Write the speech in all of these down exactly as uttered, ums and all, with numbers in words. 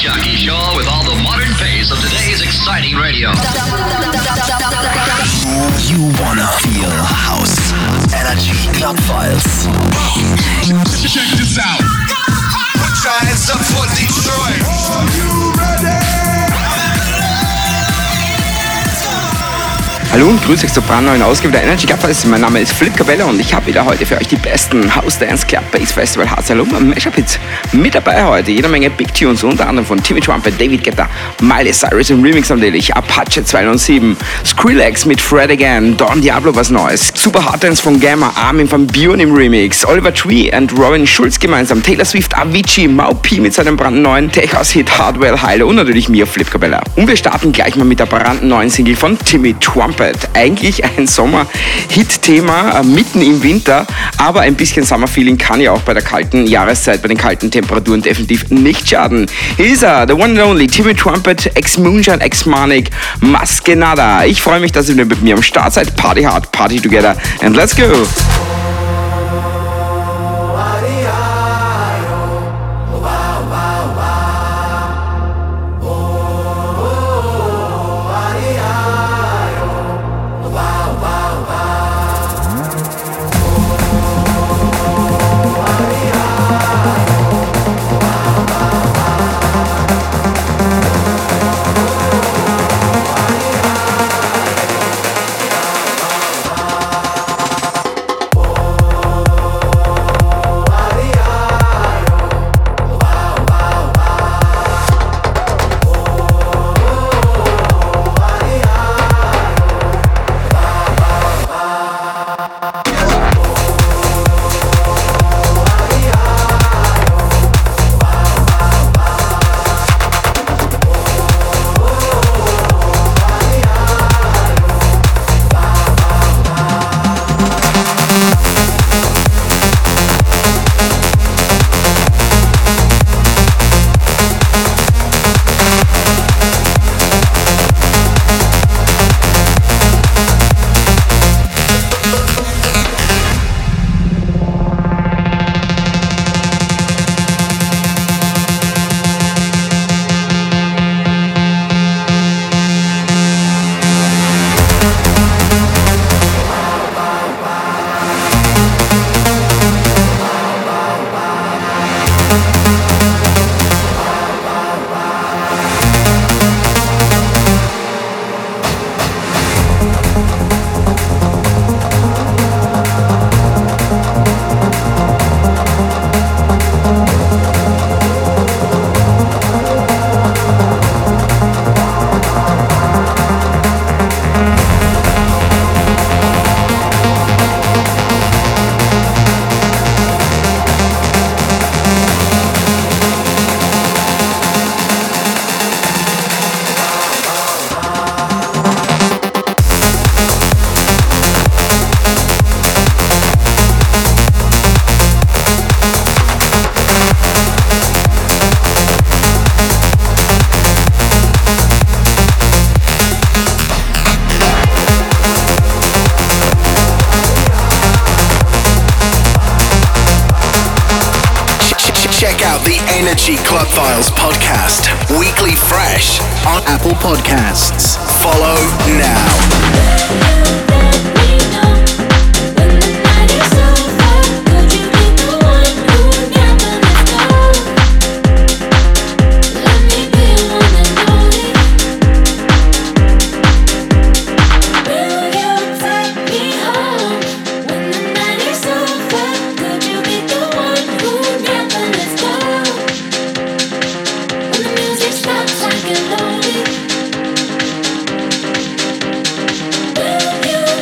jockey show with all the modern pace of today's exciting radio. You wanna feel house. Energy Club Files. Check this out. Put your hands up for Detroit. Are you ready? Hallo und grüß euch zur brandneuen Ausgabe der Energy Club Files. Mein Name ist Philipp Cabella und ich habe wieder heute für euch die besten House Dance Club Bass Festival Harz Alum Mashup Hits mit dabei heute. Jede Menge Big Tunes, unter anderem von Timmy Trumpet, David Guetta, Miley Cyrus im Remix natürlich, Apache zweihundertsieben, Skrillex mit Fred Again, Don Diablo was Neues, Super Hard Dance von Gamma, Armin van Buuren im Remix, Oliver Tree und Robin Schulz gemeinsam, Taylor Swift, Avicii, Mau P mit seinem brandneuen Tech-House-Hit Hardwell Heile und natürlich mir, Philipp Cabella. Und wir starten gleich mal mit der brandneuen Single von Timmy Trumpet. Eigentlich ein Sommer-Hit-Thema äh, mitten im Winter, aber ein bisschen Summer-Feeling kann ja auch bei der kalten Jahreszeit, bei den kalten Temperaturen definitiv nicht schaden. Hier ist er, the one and only Timmy Trumpet, ex-Moonshine, ex-Manic, Maskenada. Ich freue mich, dass ihr mit mir am Start seid. Party hard, party together and let's go! Energy Club Files podcast, weekly fresh on Apple Podcasts. Follow now. Will you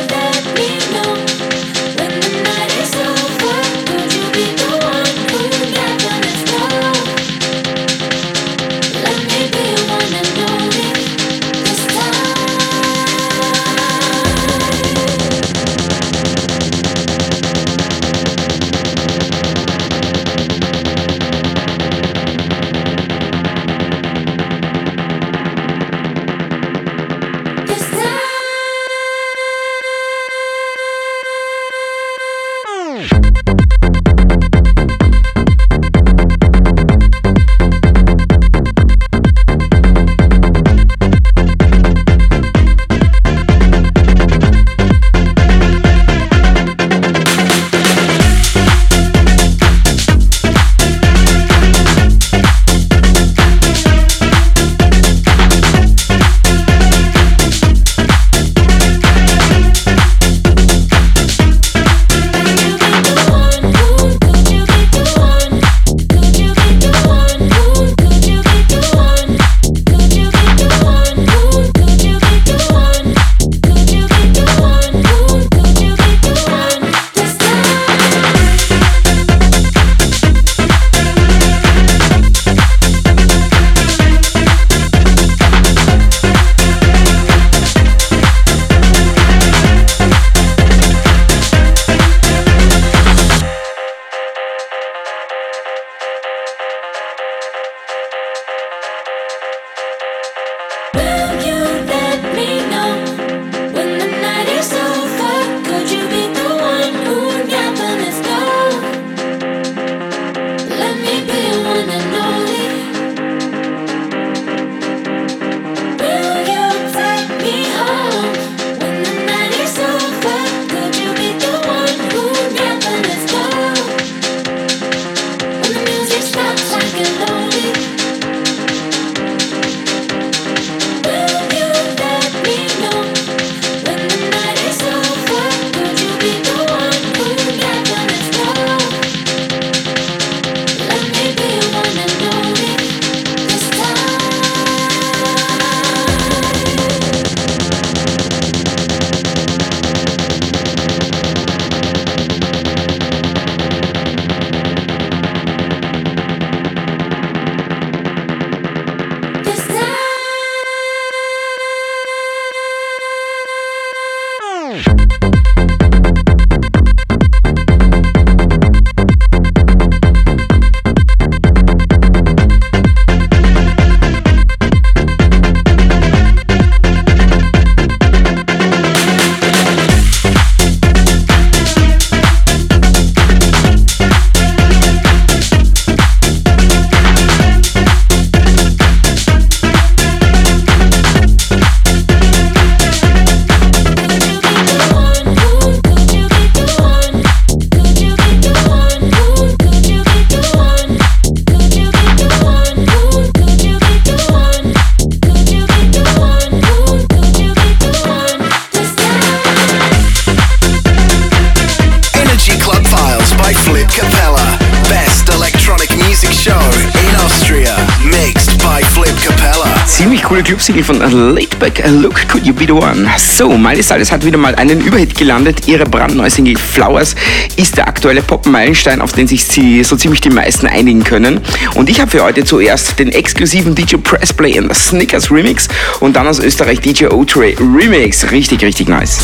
coole Club-Single von Laidback, Look Could You Be The One. So, Miley Cyrus hat wieder mal einen Überhit gelandet. Ihre brandneue Single Flowers ist der aktuelle Pop-Meilenstein, auf den sich sie so ziemlich die meisten einigen können. Und ich habe für heute zuerst den exklusiven D J Pressplay in the Snickers Remix und dann aus Österreich D J O-Tray Remix. Richtig, richtig nice.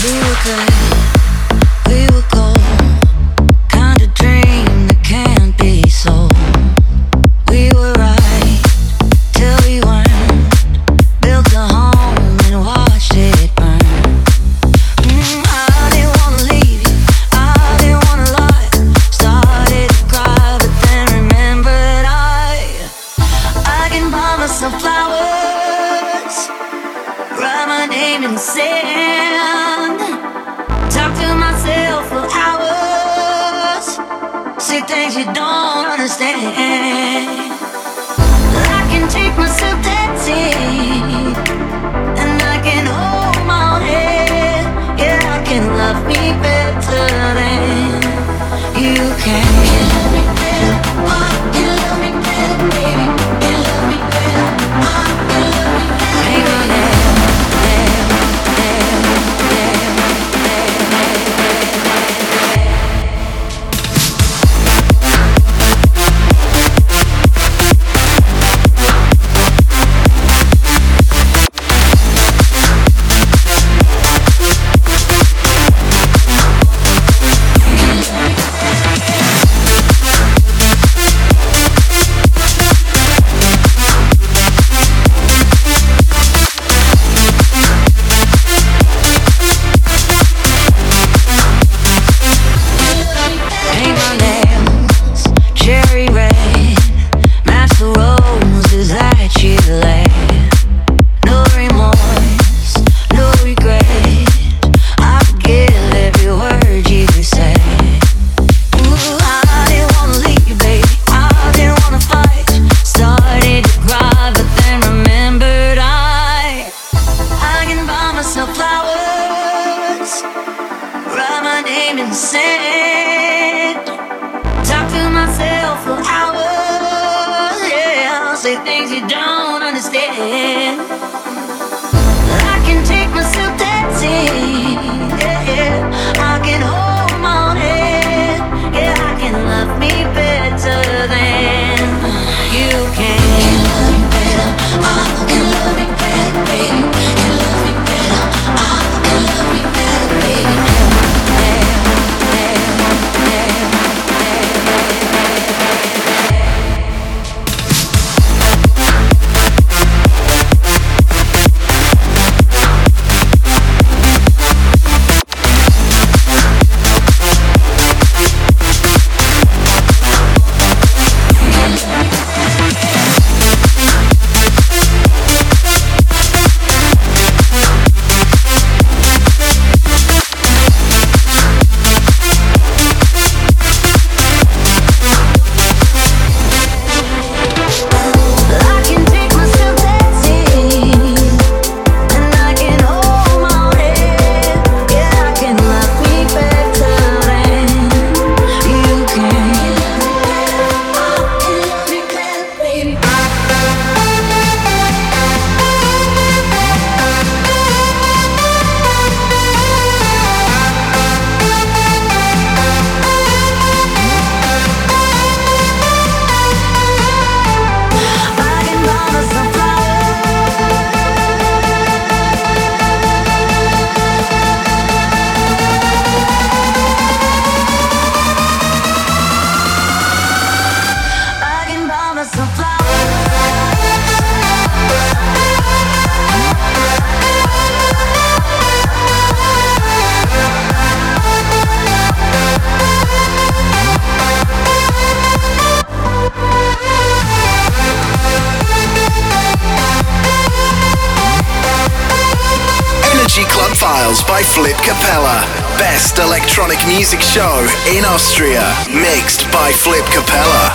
By Flip Capella. Best electronic music show in Austria. Mixed by Flip Capella.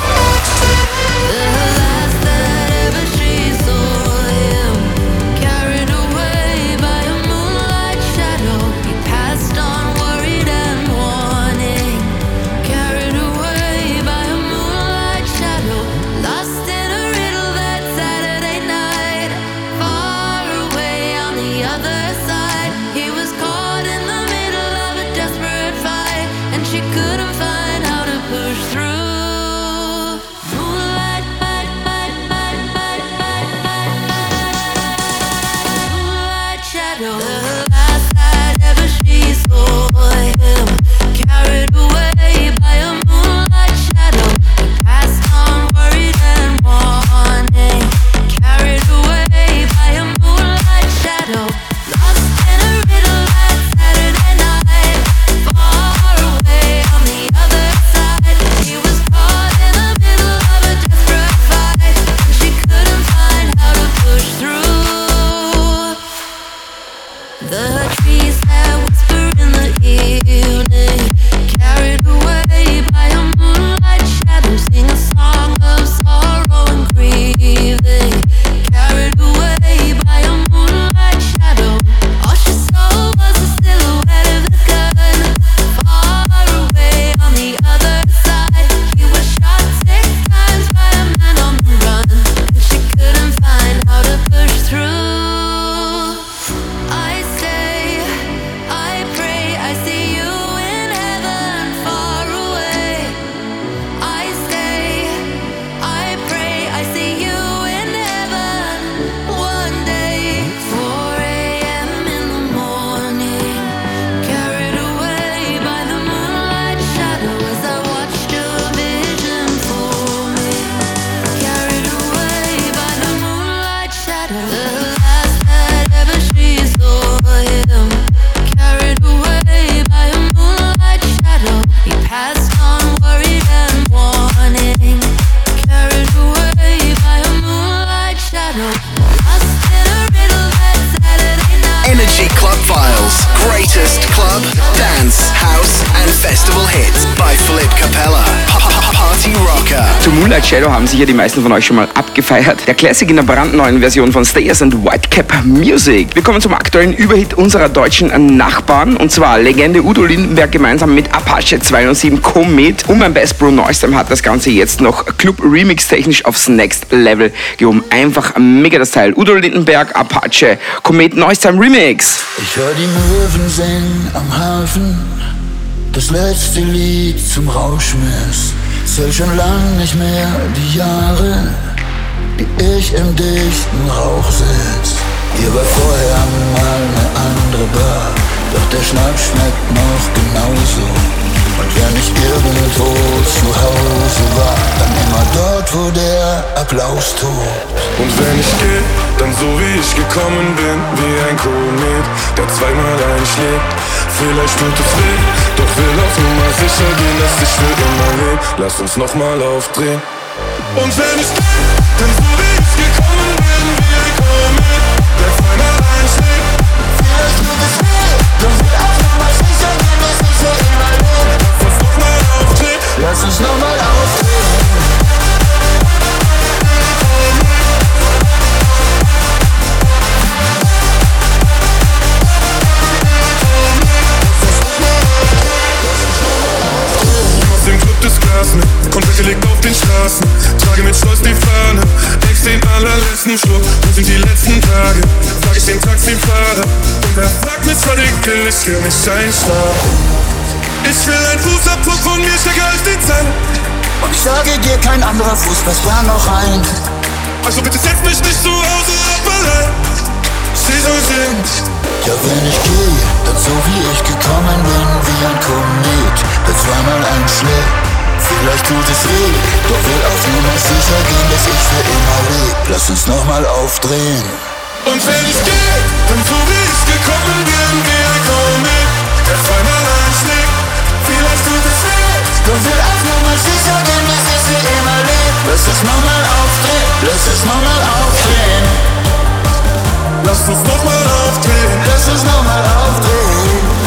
Lost in a riddle that Saturday night. Far running, carried away by a moonlight shadow, lost in a riddle that Saturday night. Energy Club Files. Greatest club, dance, house and festival hits by Flip Capella. Party Rocker. Zu Moonlight Shadow haben sicher die meisten von euch schon mal abgefeiert. Der Classic in der brandneuen Version von Stayers and Whitecap Music. Wir kommen zum aktuellen Überhit unserer deutschen Nachbarn. Und zwar Legende Udo Lindenberg gemeinsam mit Apache zweihundertsieben Komet. Und mein Best Bro Neustam hat das Ganze jetzt noch Club Remix technisch aufs Next Level gehoben. Einfach mega das Teil. Udo Lindenberg, Apache, Komet Neustam Remix. Ich hör die Möwen singen am Hafen, das letzte Lied zum Rauschmiss. Zähl schon lang nicht mehr die Jahre, die ich im dichten Rauch sitz. Hier war vorher mal eine andere Bar, doch der Schnaps schmeckt noch genauso. Und wenn ich irgendwo zu Hause war, dann immer dort, wo der Applaus tobt. Und wenn ich geh, dann so wie ich gekommen bin, wie ein Komet, der zweimal einschlägt. Vielleicht tut es weh, doch will auf Nummer sicher gehen, dass ich für immer leb. Lass uns nochmal aufdrehen. Und wenn ich geh, dann so wie ich gekommen bin, wie ein Komet, der zweimal einschlägt. Vielleicht tut es weh, doch will auf Nummer sicher gehen, dass ich für immer leb. Lass uns nochmal aufdrehen. Lass uns nochmal aufdrehen. Konfetti liegt auf den Straßen, trage mit Stolz die Fahne, ex den allerletzten Schluck, wo sind die letzten Tage, frag ich den Taxifahrer, und er fragt mich, was ich will, ich will nicht einschlafen. Ich will ein Fußabdruck von mir stärker als die Zähne. Und ich sage dir, kein anderer Fuß passt da noch rein. Also bitte setz mich nicht zu Hause ab allein, sie soll sind. Ja, wenn ich gehe, dann so wie ich gekommen bin, wie ein Komet, der zweimal einschlägt. Vielleicht tut es weh, doch will auf Nummer sicher gehen, dass ich für immer leb. Lass uns nochmal aufdrehen. Und wenn ich geh, dann so wie ich gekommen bin, wie ein Komet, der zweimal einschlägt. Vielleicht tut es weh, doch will auf Nummer sicher gehen, dass ich für immer leb. Lass uns nochmal aufdrehen, lass uns nochmal aufdrehen. Lass uns nochmal aufdrehen, lass uns nochmal aufdrehen.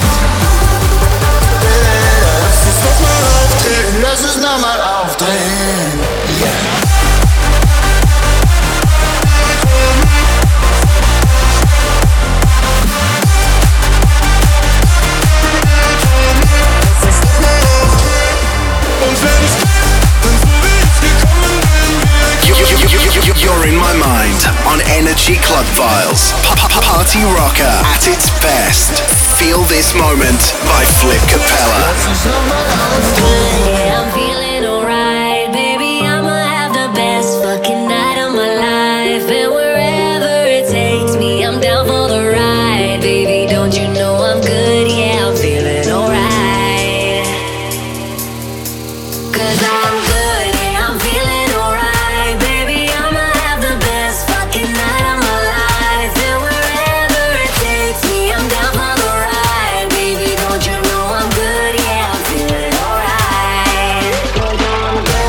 Lass uns nochmal aufdrehen. Yeah. You're in my mind on Energy Club Files. Party Rocker at its best. Feel this moment by Flip Capella. Yeah, I'm feeling alright, baby. I'ma have the best fucking night of my life, and wherever it takes me, I'm down for the ride, baby. Don't you know I'm good? Yeah, I'm feeling alright. 'Cause I'm good, yeah, I'm feeling alright, baby. I'ma have the best fucking night of my life, and wherever it takes me, I'm down for the ride, baby. Don't you know I'm good? Yeah, I'm feeling alright.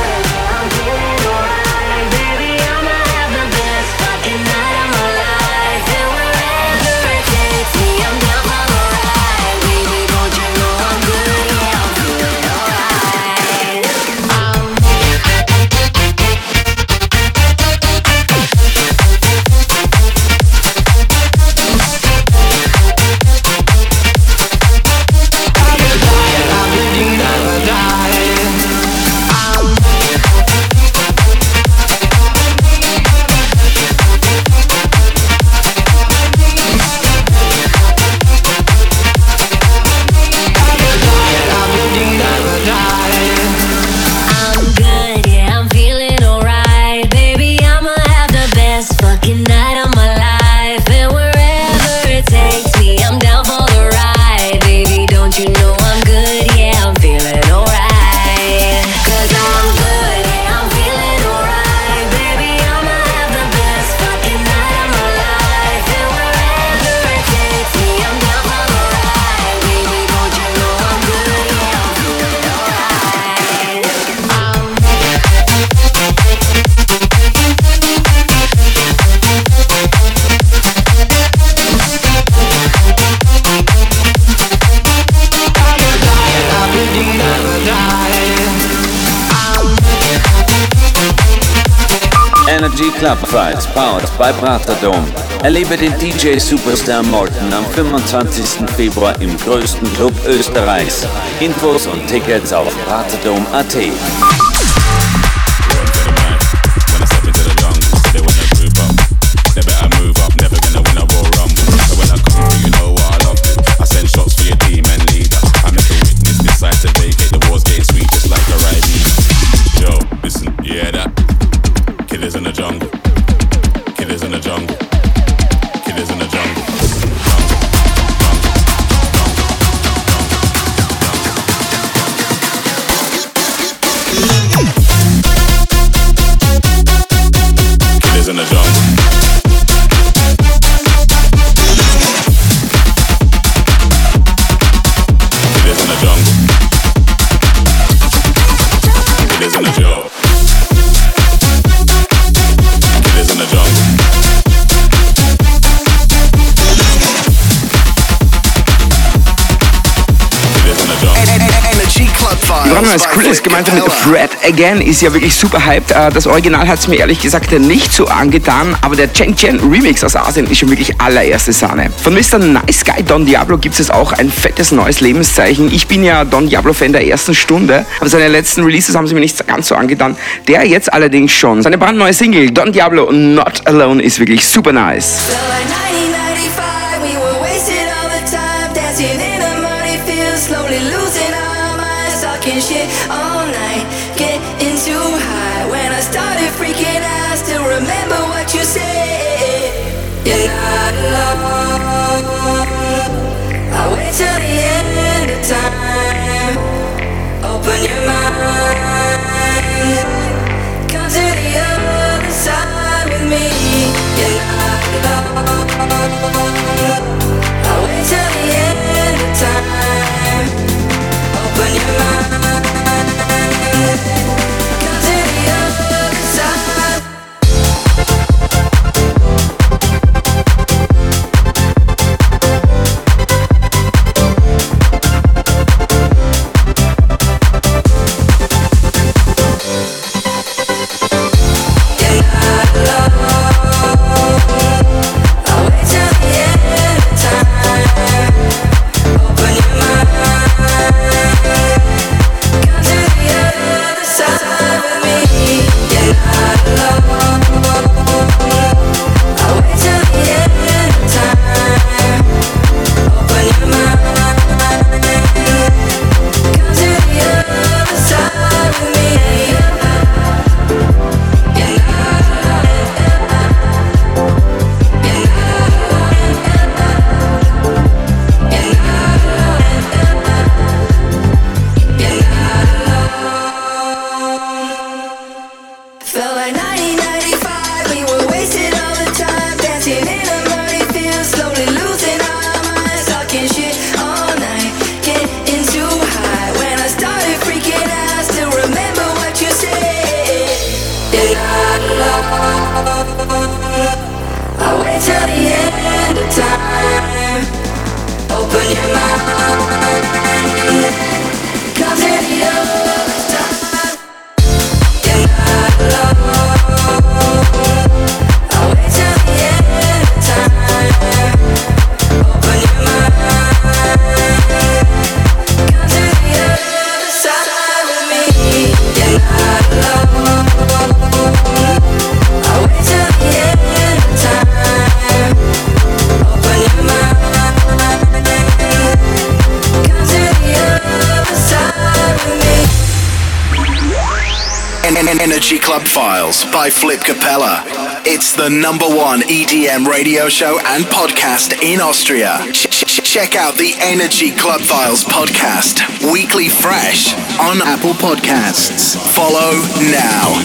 Energy Club Vibes, powered by Praterdom. Erlebe den D J Superstar Morten am fünfundzwanzigsten Februar im größten Club Österreichs. Infos und Tickets auf praterdom punkt at. Das Coole ist, gemeinsam mit Fred Again ist ja wirklich super hyped. Das Original hat es mir ehrlich gesagt nicht so angetan, aber der Chen Chen Remix aus Asien ist schon wirklich allererste Sahne. Von Mister Nice Guy Don Diablo gibt es auch ein fettes neues Lebenszeichen. Ich bin ja Don Diablo-Fan der ersten Stunde, aber seine letzten Releases haben sie mir nicht ganz so angetan. Der jetzt allerdings schon. Seine brandneue Single Don Diablo Not Alone ist wirklich super nice. Shit all night, getting too high. When I started freaking out, still remember what you said. You're not alone. I'll wait till the end of time. Open your mind. Come to the other side with me. You're not alone. I'll wait till the end of time. Open your mind. Energy Club Files by Flip Capella. It's the number one E D M radio show and podcast in Austria. Ch- ch- check out the Energy Club Files podcast, weekly fresh on Apple Podcasts. Follow now.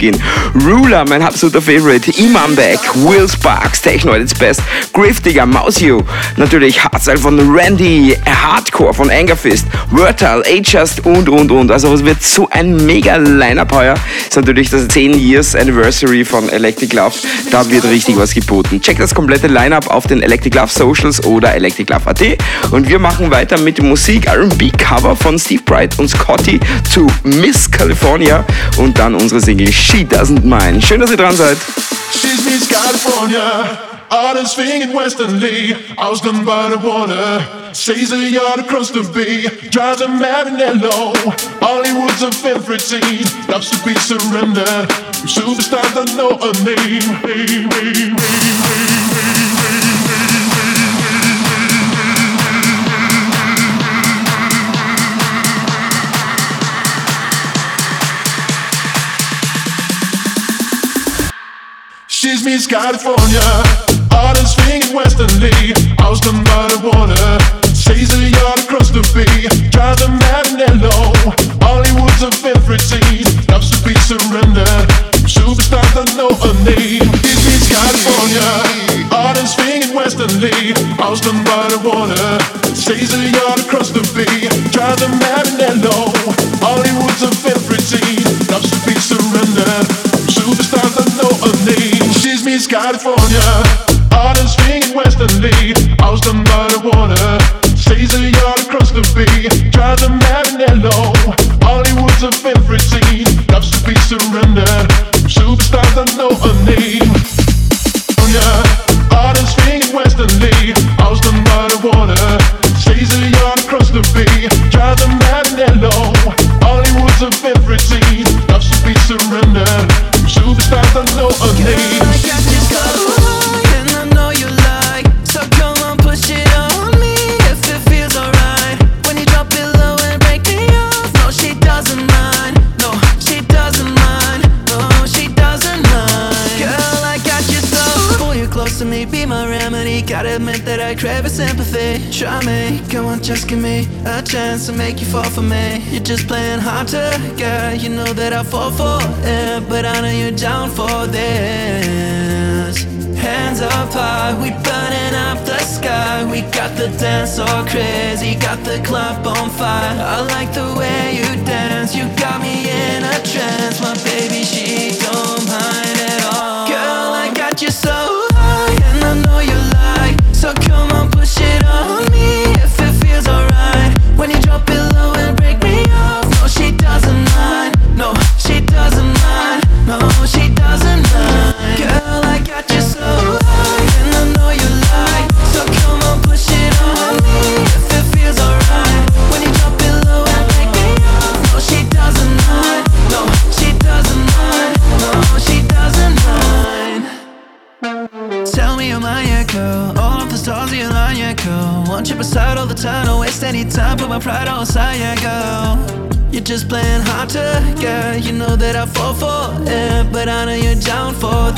gehen. Ruler, mein absoluter Favorite. Imam Beck, Will Sparks, Techno at its best. Griftiger, Mausio. Natürlich Hardstyle von Randy, Hardcore von Angerfist, Wordtile, A-Just und, und, und. Also es wird so ein mega Line-Up heuer. Ist natürlich das ten Years Anniversary von Electric Love. Da wird richtig was geboten. Checkt das komplette Line-Up auf den Electric Love Socials oder electric love punkt at. Und wir machen weiter mit dem Musik R and B-Cover von Steve Bright und Scotty zu Miss California und dann unsere Single She Doesn't Mind. Schön, dass ihr dran seid. She's Miss California, artist swing in Western Lee, house done by the water, says a yard across the bay, drives a mad and hello, Hollywood's a favorite scene, loves to be surrendered, superstars don't know her name. She's Miss California, artist swing in Western Lee, house done by the water, says a yard across the bay, drives a mad and hello, Hollywood's a favorite scene, loves to be surrendered, superstars don't know her name. She's Miss California, artist swing in Western Lee, house done by the water, says a yard across the bay, drives a mad and hello, Hollywood's a favorite scene, loves to be surrendered, superstars don't know her name. She's Miss California, artist swing in Western Lee, house done by the water, says a yard across the bay, drives a mad and hello, Hollywood's a favorite scene, loves to be surrendered, superstars don't know her name. Yeah, artist swing in Western Lee, house done by the water, says a yard across the bay, drives a mad and hello, Hollywood's a favorite scene, loves to be surrendered, superstars don't know her name. Gotta admit that I crave a sympathy. Try me, come on, just give me a chance to make you fall for me. You're just playing hard to get, you know that I fall for it, but I know you're down for this. Hands up high, we burning up the sky. We got the dance all crazy, got the club on fire. I like the way you dance, you got me in a trance. My baby, she don't mind at all. Girl, I got you so high, and I know you like. So come on, push it on me if it feels alright. When you drop it low and break me off. No, she doesn't mind. No, she doesn't mind. No, she doesn't mind. Girl, I got you so high, and I know you like. So come on, push it on me if it feels alright. When you drop it low and break me off. No, she doesn't mind. No, she doesn't mind. No, she doesn't mind. Tell me you're mine, yeah, girl. All of the stars you line, yeah, girl. Want you beside all the time, don't waste any time. Put my pride on side, yeah, girl. You're just playing hard to get. You know that I fall for it, but I know you're down for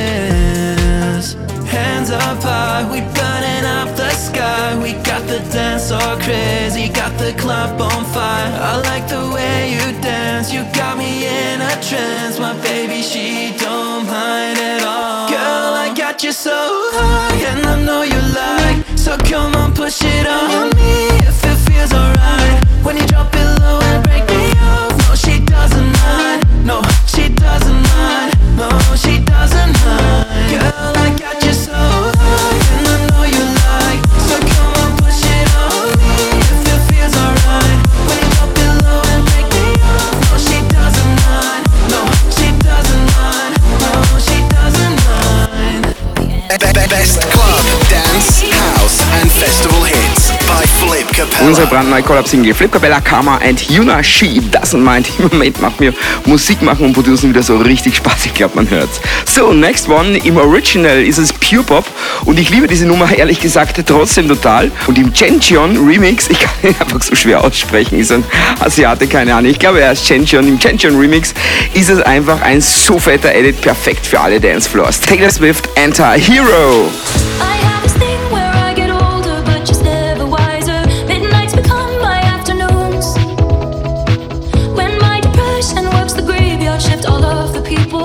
this. Hands up high, we burning up the sky. We got the dance all crazy, got the club on fire. I like the way you dance, you got me in a trance. My baby, she don't mind at all. Girl, I got you so high, and I know you like. So come on, push it on me if it feels alright. When you drop it low and break me off. No, she doesn't mind. No, she doesn't mind. No, she doesn't mind. Girl, I got you so high, and I know you like. So come on, push it on me if it feels alright. When you drop it low and break me off. No, she doesn't mind. No, she doesn't mind. No, she doesn't mind. Best club, dance, house and festival hits by Flip Capella. Unsere brandneue Collab-Single Flip Capella, Karma and Yuna, She Doesn't Mind. Im Moment macht mir Musik machen und Producen wieder so richtig Spaß. Ich glaube, man hört's. So, next one. Im Original ist es Pure Pop und ich liebe diese Nummer ehrlich gesagt trotzdem total. Und im Chenchion Remix, ich kann ihn einfach so schwer aussprechen, ist ein Asiate, keine Ahnung. Ich glaube, er ist Chenchion. Im Chenchion Remix ist es einfach ein so fetter Edit, perfekt für alle Dancefloors. Taylor Swift, Anti-Hero. I have this thing where I get older, but just never wiser. Midnights become my afternoons. When my depression works the graveyard shift, all of the people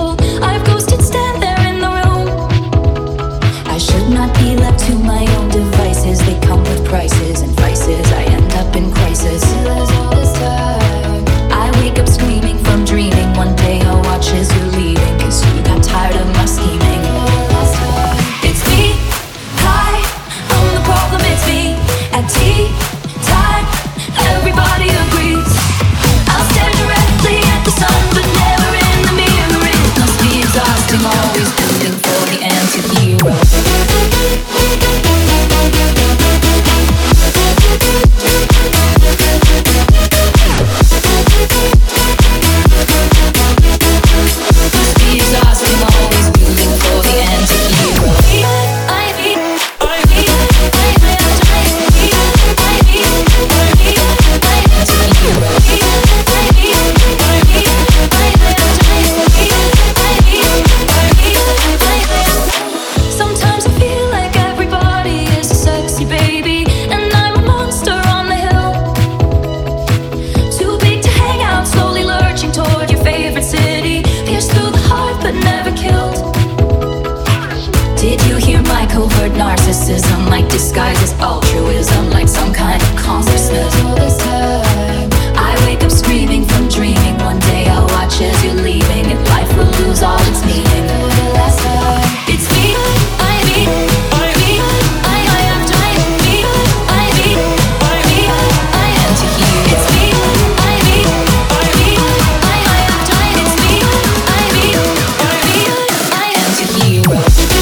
disguises altruism like some kind of consciousness. All this time, I wake up screaming from dreaming. One day I'll watch as you're leaving, and life will lose all its meaning. For the last time, it's me, I me, I me, I I am trying me, I me, I me, I am to hear. It's me, I me, I me, I I am trying. It's me, I me, I me, I am to hero.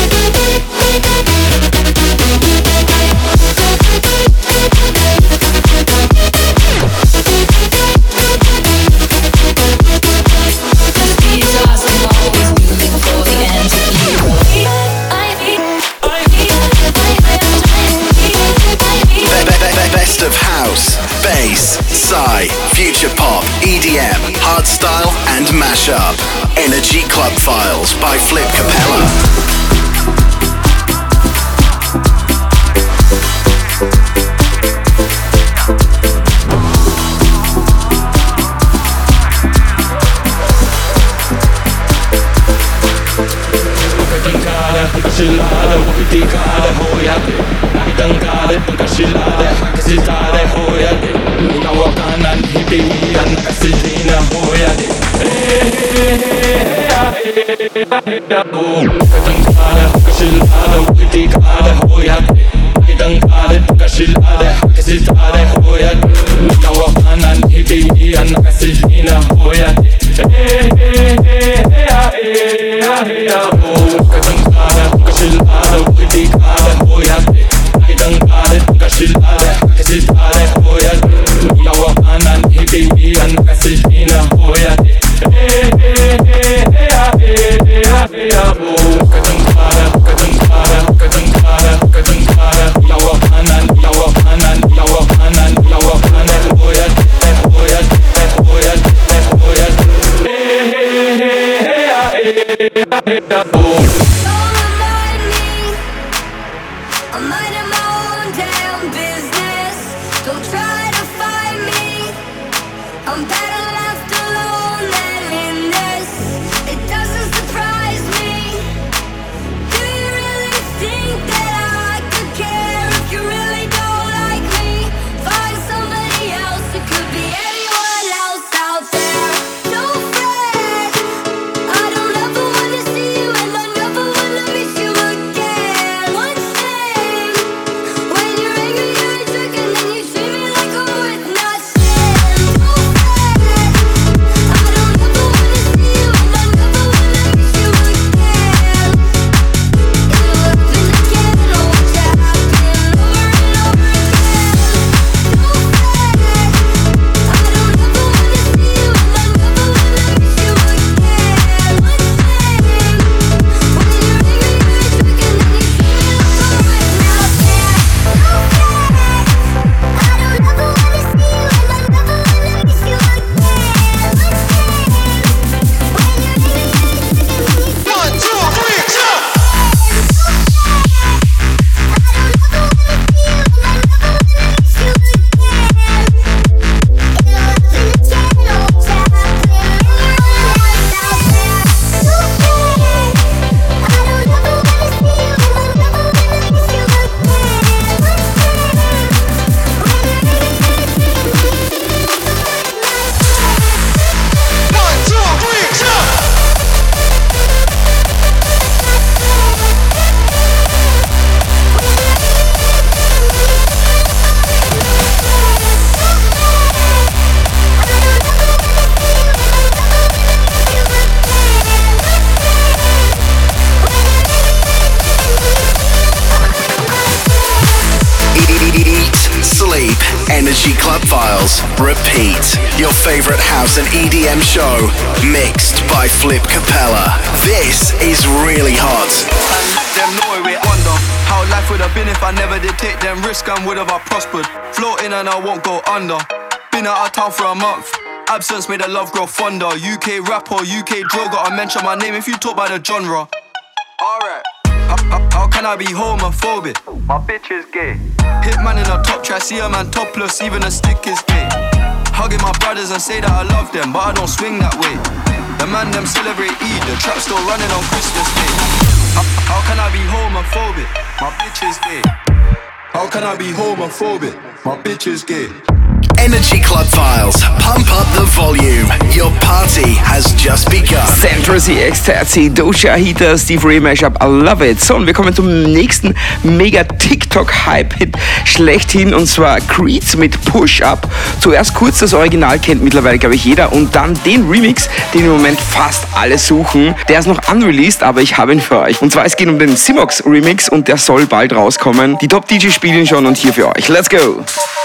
Best of house, bass, psy, future pop, E D M, hardstyle, and mashup. Energy Club Files by Flip Capella. Silade, Tikade, Hoyate, Nagangade, Kasilade, Hakasitade, Hoyate, Nawakanan, Hibian, Kasilina, Hoyate. Katangade, Kasilade, Tikade, Hoyate, Nagangade, Kasilade, Hakasitade, Hoyate, Nawakanan, Hibian, Kasilina, Hoyate. Kasilade, Tikade, Hoyate, Nagangade, Kasilade, Hakasitade, Hoyate, Nawakanan, Hibian, Kasilina, Hoyate. I'm minding my own damn business. Don't try to find me. I'm better left alone than in this. It doesn't surprise me. Do you really think that I could care if you really don't like me? Find somebody else. It could be anyone else out there. Don't fret. I don't ever wanna see you, and I never wanna miss you again. One thing, when you're angry, you're a jerk, and then you treat me like I'm worth nothing. Don't fret. I don't ever wanna see you, and I never wanna miss you again. It'll happen again, oh, watch it happen over and over again. Don't fret. I don't ever wanna see you, and I never wanna miss you again. One thing, when you're angry, you're a jerk, and then you treat me like I'm worth nothing. Don't fret. I don't ever wanna see you, and I never wanna miss you again. One thing, when you're angry, you're a jerk, and then you treat me like I'm worth nothing. One, two, three, jump! Eat, sleep, Energy Club Files, repeat. Your favorite house and E D M show, mixed by Flip Capella. This is really hot. Them know it, wonder how life would have been if I never did take them risks and would have I prospered. Floating and I won't go under. Been out of town for a month. Absence made the love grow fonder. U K rapper, U K drill, gotta mention my name if you talk by the genre. Alright. How, how, how can I be homophobic? My bitch is gay. Hitman in a top try, see a man topless, even a stick is gay. Hugging my brothers and say that I love them, but I don't swing that way. The man them celebrate Eid, the trap still running on Christmas Day. How, how can I be homophobic? My bitch is gay. How can I be homophobic? My bitch is gay. Energy Club Files. Pump up the volume. Your party has just begun. Central C X Z C, Doja Heater, Steve Ray Mashup, I love it. So, und wir kommen zum nächsten mega TikTok-Hype-Hit schlechthin, und zwar Creeds mit Push Up. Zuerst kurz das Original, kennt mittlerweile, glaube ich, jeder, und dann den Remix, den im Moment fast alle suchen. Der ist noch unreleased, aber ich habe ihn für euch. Und zwar, es geht um den Simox Remix und der soll bald rauskommen. Die Top-D Js spielen schon und hier für euch. Let's go!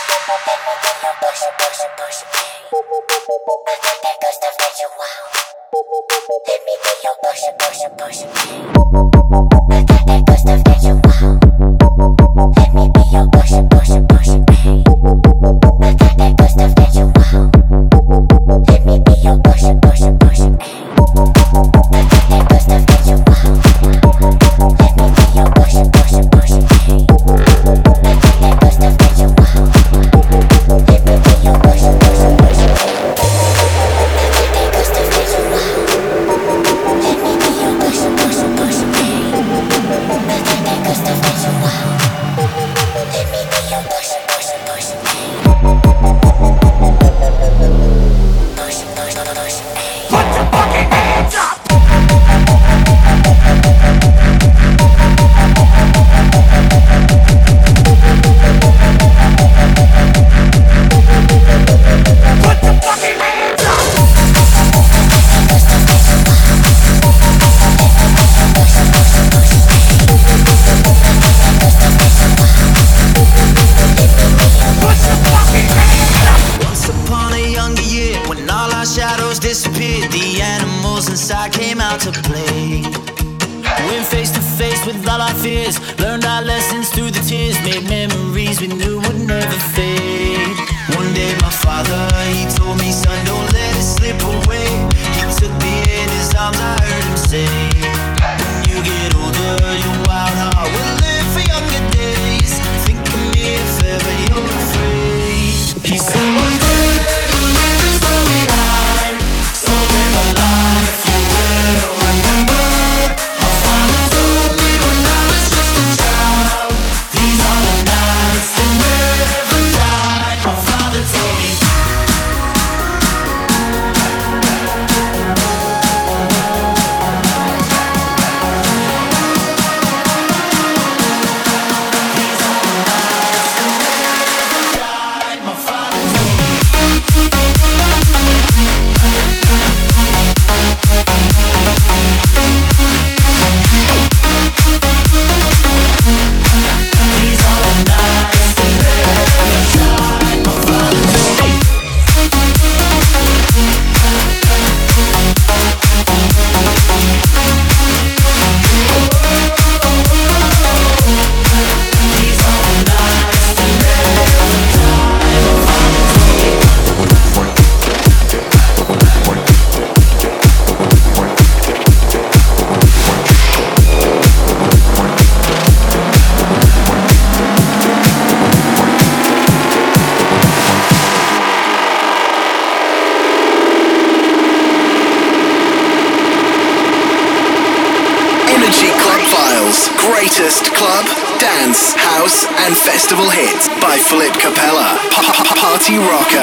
Greatest club, dance, house, and festival hits by Flip Capella. Party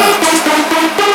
Rocker.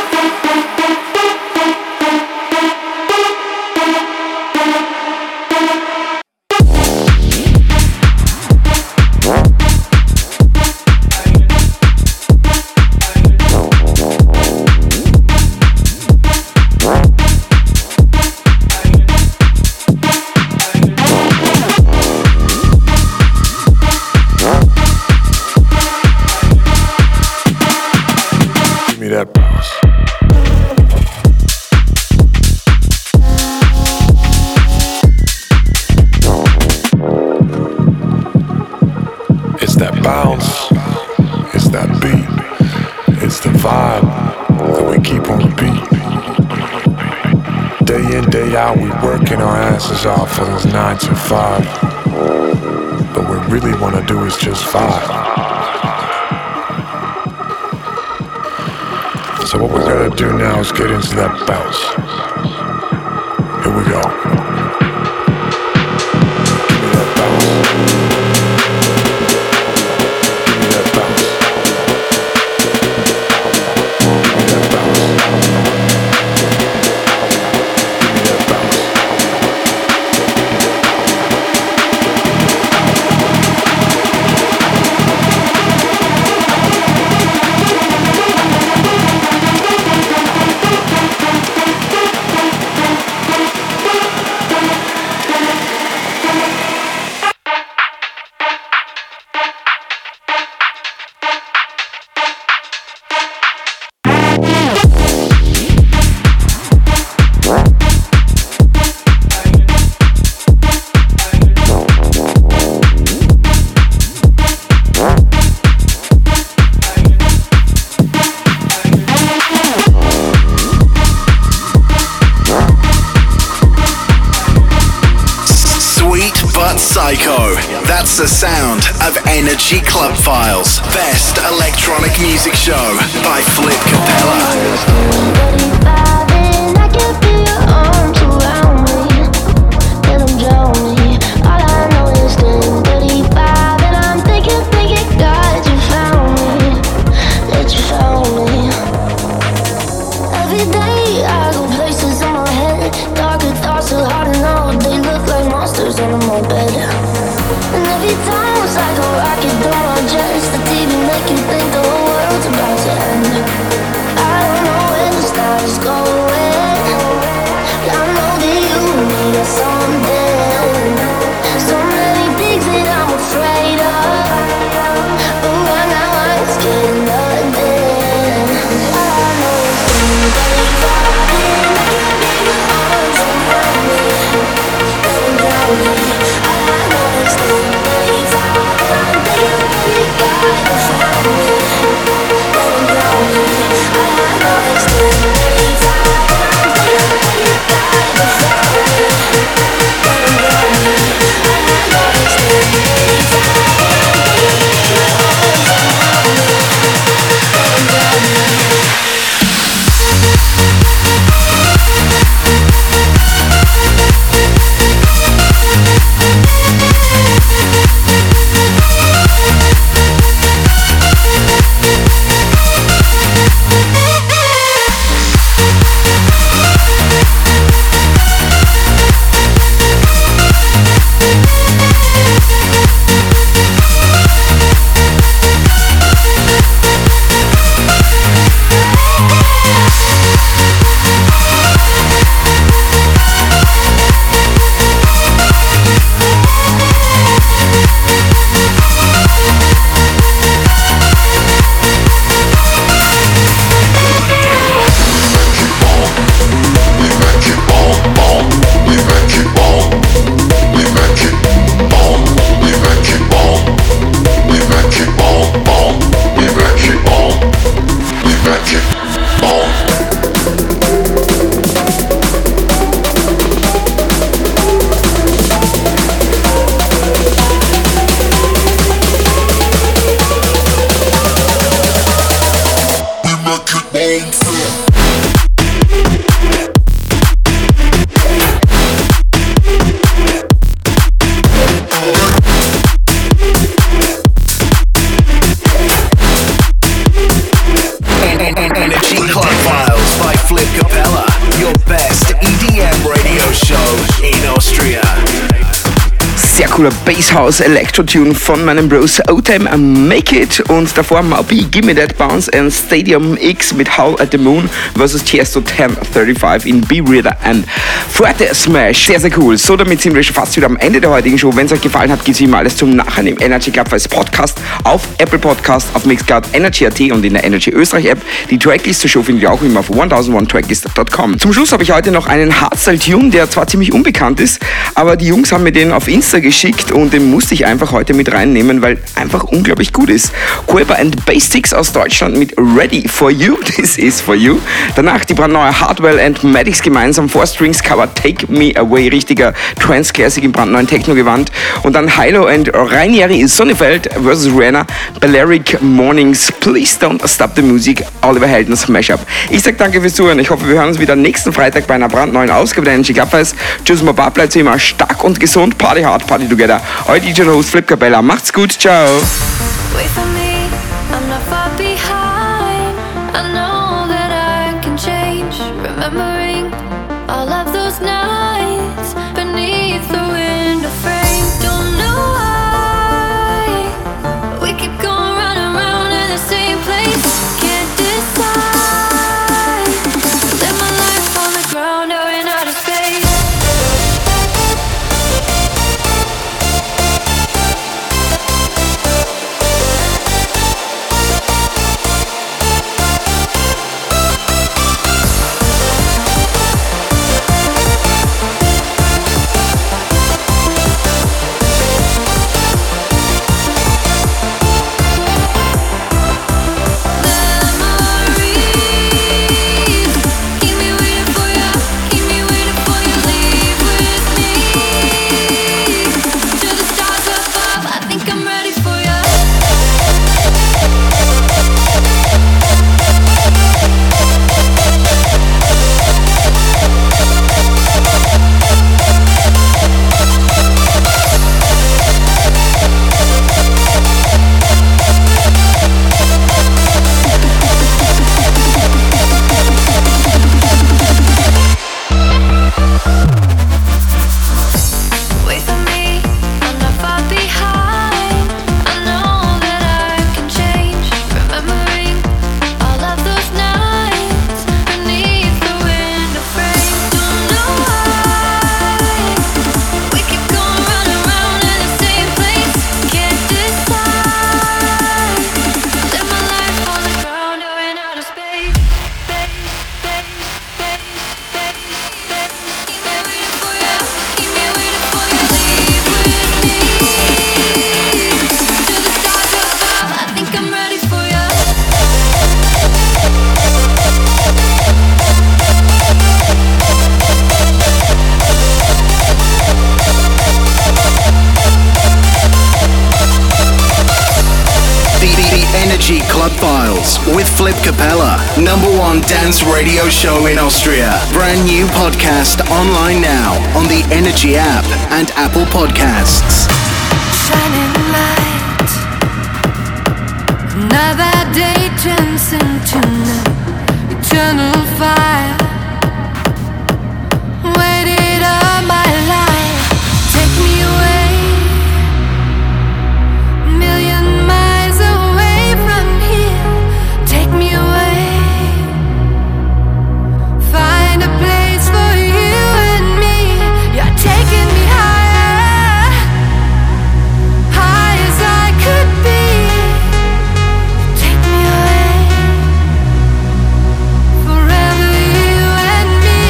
Off for those nine to five, but what we really want to do is just five. So what we're gonna do now is get into that bounce. Here we go. Give me that bounce. but psycho. That's the sound of Energy Club Files. Best electronic music show by Flip Capella. Cooler Basshouse Electro-Tune von meinem Bros O-Time Make It und davor Moby Gimme That Bounce and Stadium X mit Howl at the Moon versus Tiesto ten thirty-five in B-Reader and Forte Smash. Sehr, sehr cool. So, damit sind wir schon fast wieder am Ende der heutigen Show. Wenn es euch gefallen hat, gibt es immer alles zum Nachhören im Energy Club als Podcast auf Apple Podcast, auf Mixcloud, Energy Punkt at und in der Energy Österreich App. Die Tracklist zur Show findet ihr auch immer auf tausendundeins tracklist punkt com. Zum Schluss habe ich heute noch einen Hardstyle-Tune, der zwar ziemlich unbekannt ist, aber die Jungs haben mir den auf Insta geschickt und den musste ich einfach heute mit reinnehmen, weil einfach unglaublich gut ist. Queba and Basics aus Deutschland mit Ready for You, This is for You. Danach die brandneue Hardwell and Maddox gemeinsam, Four Strings Cover Take Me Away, richtiger Trance-Classic im brandneuen Techno-Gewand. Und dann Hilo and Rainieri Sonnefeld versus Rihanna, Balearic Mornings, Please Don't Stop the Music, Oliver Heldens Mashup. Ich sag danke fürs Zuhören. Ich hoffe, wir hören uns wieder nächsten Freitag bei einer brandneuen Ausgabe der Energy Club Files. Tschüss, Baba, bleibt immer stark und gesund. Party hard, party together. Euer D J und Host Flip Capella. Macht's gut, ciao. Wait for me, I'm not far behind. I know that I can change. Remembering all of those nights beneath the window frame. Don't know why we keep going round and round in the same place. Can't decide. Live my life on the ground or in outer space. Files with Flip Capella, number one dance radio show in Austria. Brand new podcast online now on the Energy app and Apple Podcasts. Shining light, another day turns into night, eternal fire. Waited all my life, take me away, million miles away from here, take me away, find a place for you and me, you're taking me higher, high as I could be, take me away, forever you and me.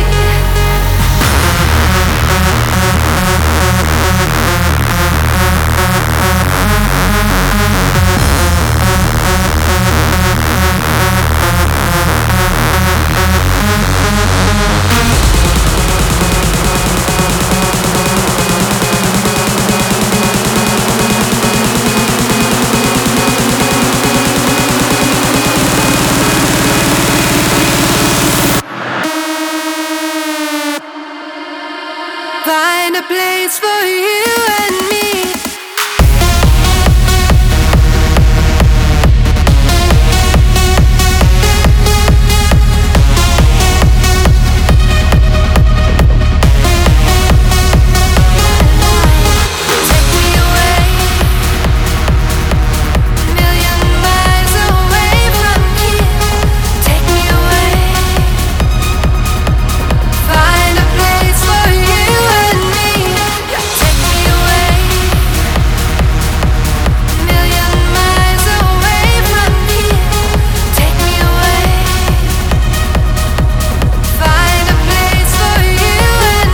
Find a place for you and me. Take me away, million miles away from here. Take me away, find a place for you and me. Yeah, take me away, million miles away from here. Take me away, find a place for you and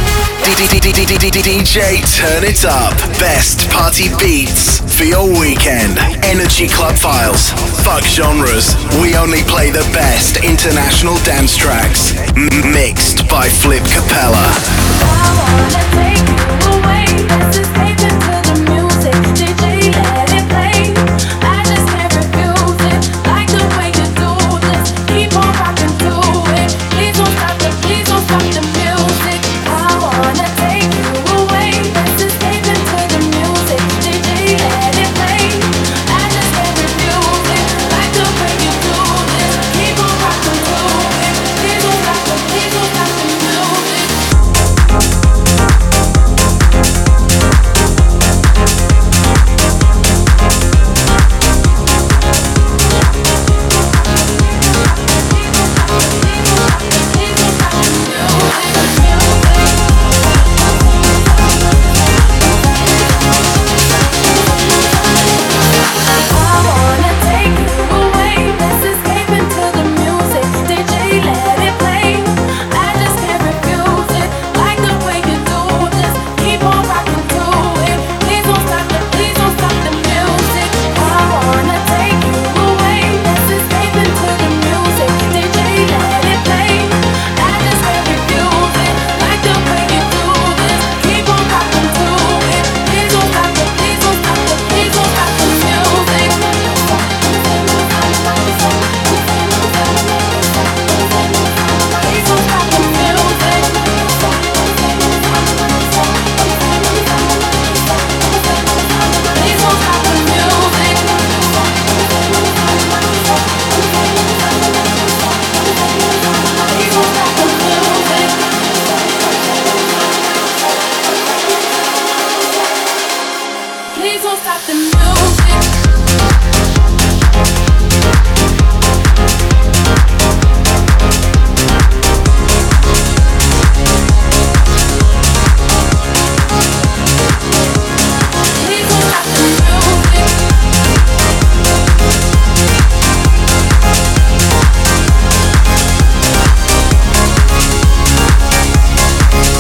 me. D J Turn It Up. Best party beats for your weekend. Energy Club Files. Fuck genres. We only play the best international dance tracks. M- mixed by Flip Capella.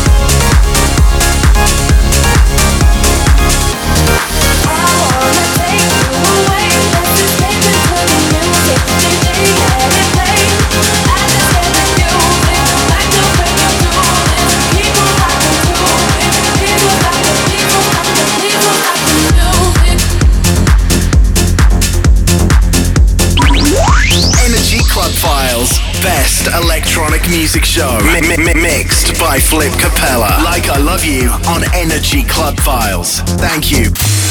I wanna take music show. Mi- mi- mi- mixed by Flip Capella. Like I Love You on Energy Club Files. Thank you.